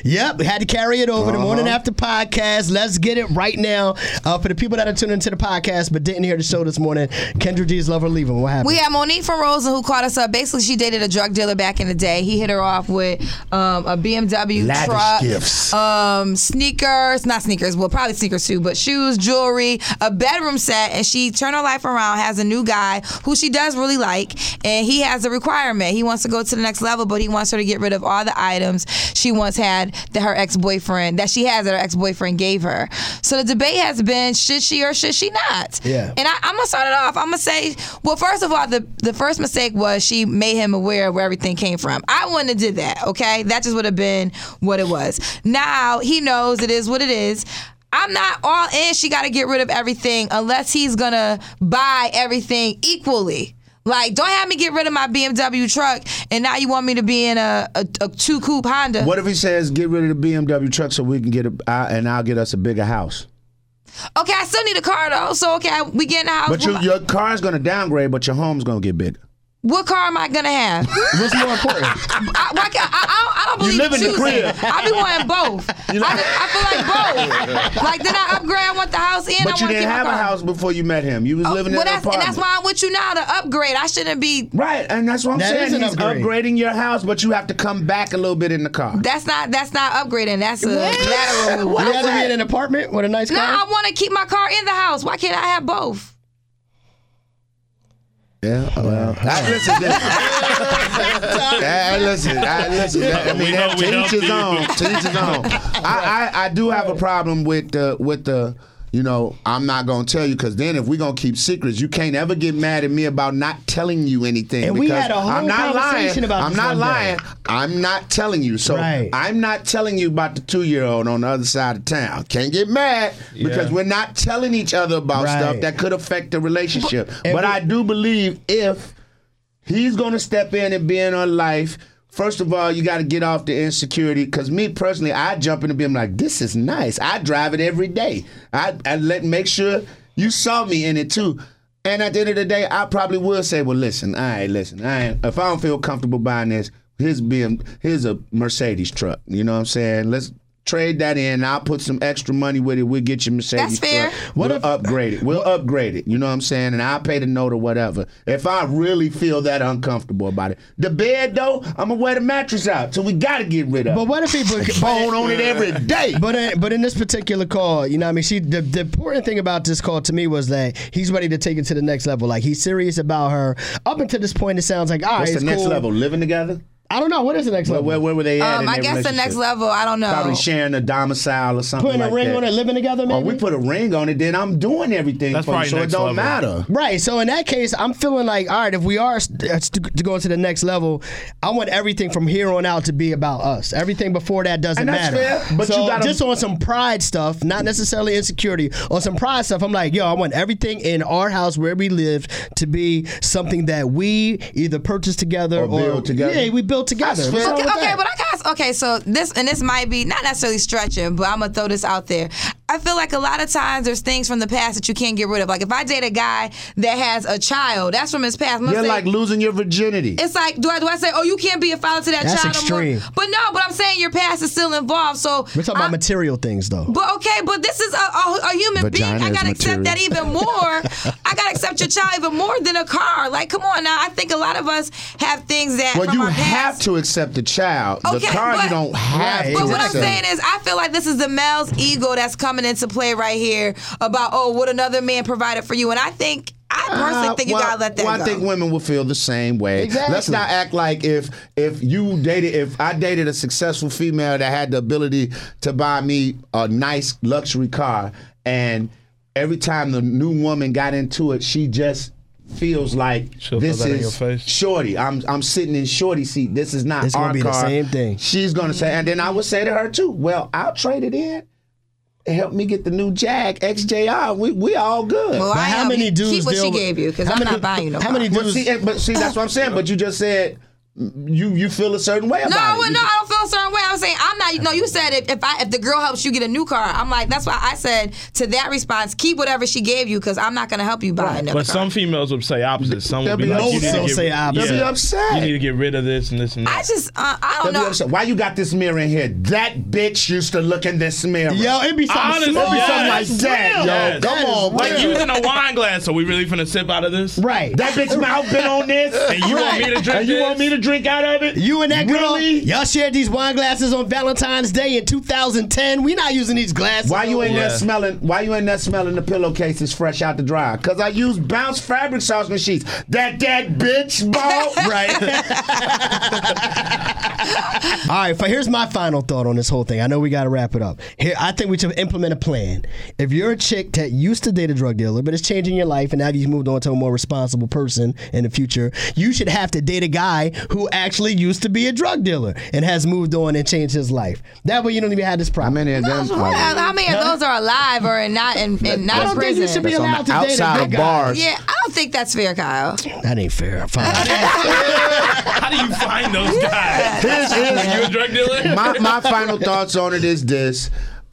Yep, we had to carry it over. The Morning After podcast. Let's get it right now. For the people that are tuning into the podcast but didn't hear the show this morning, Kendra G's Love or Leave Him. What happened? We had Monique from Rosen who caught us up. Basically, she dated a drug dealer back in the day. He hit her off with a BMW lavish truck, gifts. sneakers, not sneakers, well, probably sneakers too, but shoes, jewelry, a bedroom set, and she turned her life around, has a new guy who she does really like, and he has a requirement. He wants to go to the next level, but he wants her to get rid of all the items she once had that her ex-boyfriend gave her. So the debate has been, should she or should she not? Yeah. And I'm going to start it off. I'm going to say, well, first of all, the first mistake was she made him aware of where everything came from. I wouldn't have did that, okay? That just would have been what it was. Now, he knows it is what it is. I'm not all in. She got to get rid of everything unless he's going to buy everything equally. Like, don't have me get rid of my BMW truck and now you want me to be in a two-coupe Honda. What if he says, get rid of the BMW truck so we can get and I'll get us a bigger house? Okay, I still need a car, though. So, okay, we get in the house. But your car's going to downgrade, but your home's going to get bigger. What car am I going to have? What's more important? I don't believe You live in the crib. I be wanting both. I feel like both. Like, then I upgrade, I want the house and But I you want to didn't keep my have car. a house before you met him. You was living in an apartment. And that's why I'm with you now, to upgrade. I shouldn't be... Right, and that's what I'm That is saying. an He's upgrade. upgrading your house, but you have to come back a little bit in the car. That's not upgrading. That's a lateral move. You had to be in an apartment with a nice No, car? I want to keep my car in the house. Why can't I have both? Yeah, well, listen. I mean, to each his own. To each his own. I do have a problem with the. You know, I'm not going to tell you because then if we're going to keep secrets, you can't ever get mad at me about not telling you anything. And we had a whole I'm not conversation lying. about I'm this not one lying. day. I'm not telling you. So Right. I'm not telling you about the 2-year-old on the other side of town. Can't get mad because we're not telling each other about Right. stuff that could affect the relationship. And But I do believe if he's going to step in and be in her life, first of all, you got to get off the insecurity. Because me personally, I jump in and be like, this is nice. I drive it every day. I make sure you saw me in it too. And at the end of the day, I probably will say, well, listen. If I don't feel comfortable buying this, here's a Mercedes truck. You know what I'm saying? Let's trade that in. I'll put some extra money with it. We'll get you Mercedes That's fair. truck. We'll upgrade it. We'll upgrade it. You know what I'm saying? And I'll pay the note or whatever. If I really feel that uncomfortable about it. The bed, though, I'm going to wear the mattress out. So we got to get rid of it. But what if he Bone on it every day. But in this particular call, you know what I mean? The important thing about this call to me was that he's ready to take it to the next level. Like, he's serious about her. Up until this point, it sounds like, all right, What's it's the next cool. level? Living together? I don't know. What is the next level? Where were they at in I their guess the next relationship? level, I don't know. Probably sharing a domicile or something Putting like a ring that. on it, living together, maybe? Or we put a ring on it, then I'm doing everything That's for you, probably so it next don't level. matter. Right. So in that case, I'm feeling like, all right, if we are to go to the next level, I want everything from here on out to be about us. Everything before that doesn't And that's matter. fair, but so you gotta- just on some pride stuff, not necessarily insecurity, on some pride stuff, I'm like, yo, I want everything in our house where we live to be something that we either purchase together Or build together. Yeah, we build together. That's What's fair. wrong with that? But I guess, so this might be not necessarily stretching, but I'm gonna throw this out there. I feel like a lot of times there's things from the past that you can't get rid of. Like if I date a guy that has a child, that's from his past. You're like losing your virginity. It's like, do I say, oh, you can't be a father to that That's child extreme. no more? But no, but I'm saying your past is still involved. So We're talking about material things, though. But okay, but this is a human being. Vagina I is gotta accept material. that even more. I gotta accept your child even more than a car. Like, come on now. I think a lot of us have things that Well, from you our have past. to accept the child. The Okay, car, but- you don't have Right. to But what I'm accept. saying is, I feel like this is the male's ego that's coming into play right here about, oh, what another man provided for you. And I personally think you gotta let that well, go. I think women will feel the same way. Exactly. Let's not act like if I dated a successful female that had the ability to buy me a nice luxury car, and every time the new woman got into it, she just feels like She'll this throw that in your is face. shorty. I'm sitting in shorty seat. This is not It's our gonna be the car. same thing. She's gonna say, and then I would say to her too, well, I'll trade it in. Help me get the new Jag XJR. We all good. Well, But I how am. many dudes keep what deal she with- gave you, because how I'm many- not buying you no how many car. dudes- But see, that's what I'm saying. But you just said you feel a certain way about No, it. I don't feel feel a certain way. I was saying I'm not. No, you said if the girl helps you get a new car, I'm like that's why I said to that response, keep whatever she gave you because I'm not going to help you buy another But car. some females would say opposite. Some would be like, you need to say opposite. They'll be upset. You need to get rid of this and this and that. I just I don't They'll be know. upset. Why you got this mirror in here? That bitch used to look in this mirror. Yo, it be something Honestly, small. yeah, something like that's that, real. yo. Yes. Come That on, is Like real. using a wine glass. Are we really finna sip out of this? Right. That bitch mouth been on this. And you want me to drink And you this? want me to drink out of it? You and that girl, Really? y'all shared these wine glasses on Valentine's Day in 2010. We not using these glasses. Why you in there Yeah. smelling? Why you in there smelling the pillowcases fresh out the dryer? Cause I use Bounce fabric softener sheets. That bitch bought. Right. All right, here's my final thought on this whole thing. I know we got to wrap it up. Here, I think we should implement a plan. If you're a chick that used to date a drug dealer, but it's changing your life, and now you've moved on to a more responsible person in the future, you should have to date a guy who actually used to be a drug dealer and has moved on and changed his life. That way, you don't even have this How problem. many of them? How many of those are alive or not in I not don't in think you prison? should be That's on allowed the to date a outside good of guy. bars. Yeah, I don't think that's fair, Kyle. That ain't fair. Fine. How do you find those guys? Are you a drug dealer? my final thoughts on it is this: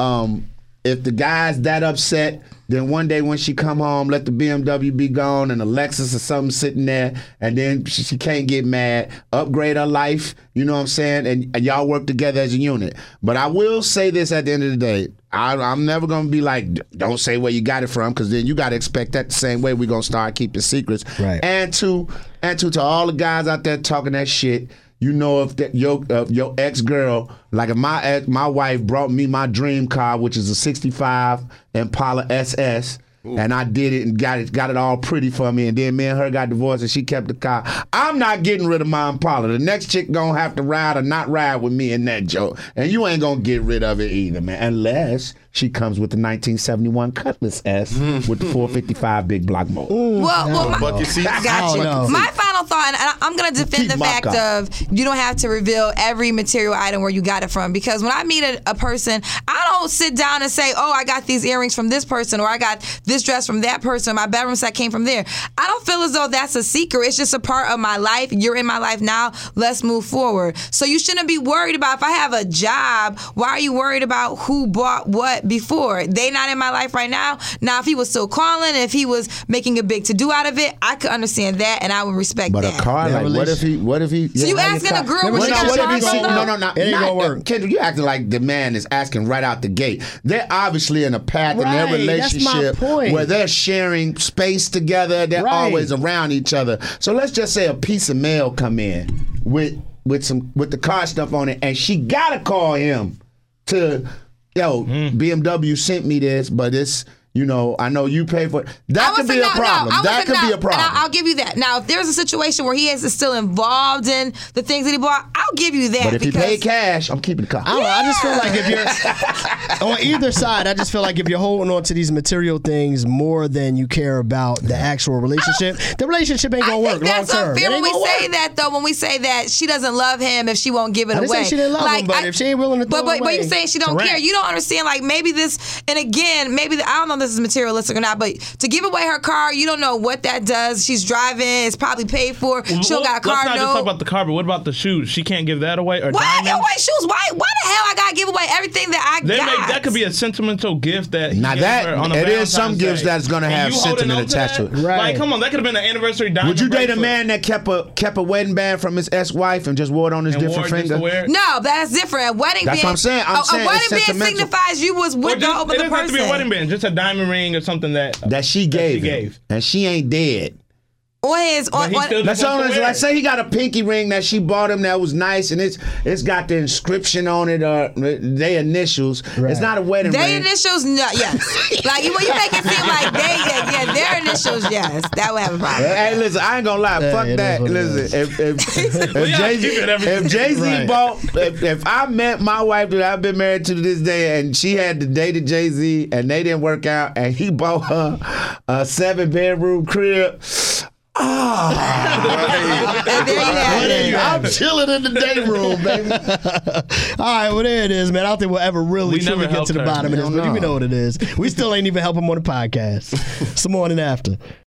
if the guy's that upset, then one day when she come home, let the BMW be gone and a Lexus or something sitting there, and then she can't get mad. Upgrade her life, you know what I'm saying? And y'all work together as a unit. But I will say this at the end of the day. I'm never going to be like, don't say where you got it from, because then you got to expect that the same way we're going to start keeping secrets. Right. And to all the guys out there talking that shit, you know, if that your ex-girl, like if my wife brought me my dream car, which is a 65 Impala SS, and I did it and got it all pretty for me, and then me and her got divorced and she kept the car, I'm not getting rid of my Impala. The next chick gonna have to ride or not ride with me in that joke, and you ain't gonna get rid of it either, man, unless she comes with the 1971 Cutlass S with the 455 big block motor. Well, Bucket seats. I got you. I don't know. My final thought, and I'm going to defend Keep the my fact car. of you don't have to reveal every material item where you got it from, because when I meet a person, I don't sit down and say, oh, I got these earrings from this person, or I got this dress from that person, my bedroom set came from there. I don't feel as though that's a secret. It's just a part of my life. You're in my life now. Let's move forward. So you shouldn't be worried about if I have a job, why are you worried about who bought what before? They not in my life right now. Now, if he was still calling, if he was making a big to-do out of it, I could understand that, and I would respect But that. a car, Yeah, like, what if he? So you asking a girl when she got what a if he car see, from no, though? no, It ain't gonna work. Kendra, you acting like the man is asking right out the gate. They're obviously in a path in their Right, that's my relationship point. where they're sharing space together. They're Right. always around each other. So let's just say a piece of mail come in with the car stuff on it, and she gotta call him to, BMW sent me this, but it's, I know you pay for it. That could be a problem. That could be a problem. And I'll give you that. Now, if there's a situation where he is still involved in the things that he bought, I'll give you that. But if he because paid cash, I'm keeping the car. I don't know. I just feel like if you're on either side, I just feel like if you're holding on to these material things more than you care about the actual relationship, the relationship ain't I gonna think work long that's term. unfair It when ain't we gonna say work. that, though. When we say that she doesn't love him if she won't give it I didn't away. say she didn't love him, but if she ain't willing to throw but it away, you saying she don't correct. care, you don't understand. Like maybe this, and again, maybe I don't know if this is materialistic or not, but to give away her car, you don't know what that does. She's driving, it's probably paid for. She don't got a car Let's not just talk note. about the car, but what about the shoes? She can't give that away, or Why I give diamonds? away shoes? Why the hell I gotta give away everything that I got? That could be a sentimental gift that he Now gave that- her on a it is Valentine's some gifts Day. that's gonna And have you holding sentiment on to attached to that? it. Right. Like, come on, that could have been an anniversary diamond. Would you date a bracelet. man that kept a wedding band from his ex-wife and just wore it on his and different wore it just to finger? wear it? No, that's different. A wedding That's band. what I'm saying. I'm saying a wedding it's band sentimental. signifies you was Or with the just, other it doesn't have to person. be a wedding band, just a diamond ring or something that That she gave. And she ain't dead. On his But he still That's just all. wants to wear Like, it. say he got a pinky ring that she bought him that was nice, and it's got the inscription on it or their initials. Right. It's not a wedding Their ring. initials, no, yes. Like you make it seem like their initials, yes. That would have a problem. Hey, listen, I ain't gonna lie. Yeah, Fuck it that. is what it Listen, if gotta keep it every- Jay-Z Right. bought, if I met my wife that I've been married to this day, and she had to date Jay-Z, and they didn't work out, and he bought her a 7-bedroom crib. And there you have it. I'm chilling in the day room, baby. All right, well there it is, man. I don't think we'll ever really We truly never get to the helped her. bottom of this, Hell but no. you know what it is. We still ain't even help him on the podcast. Some morning after.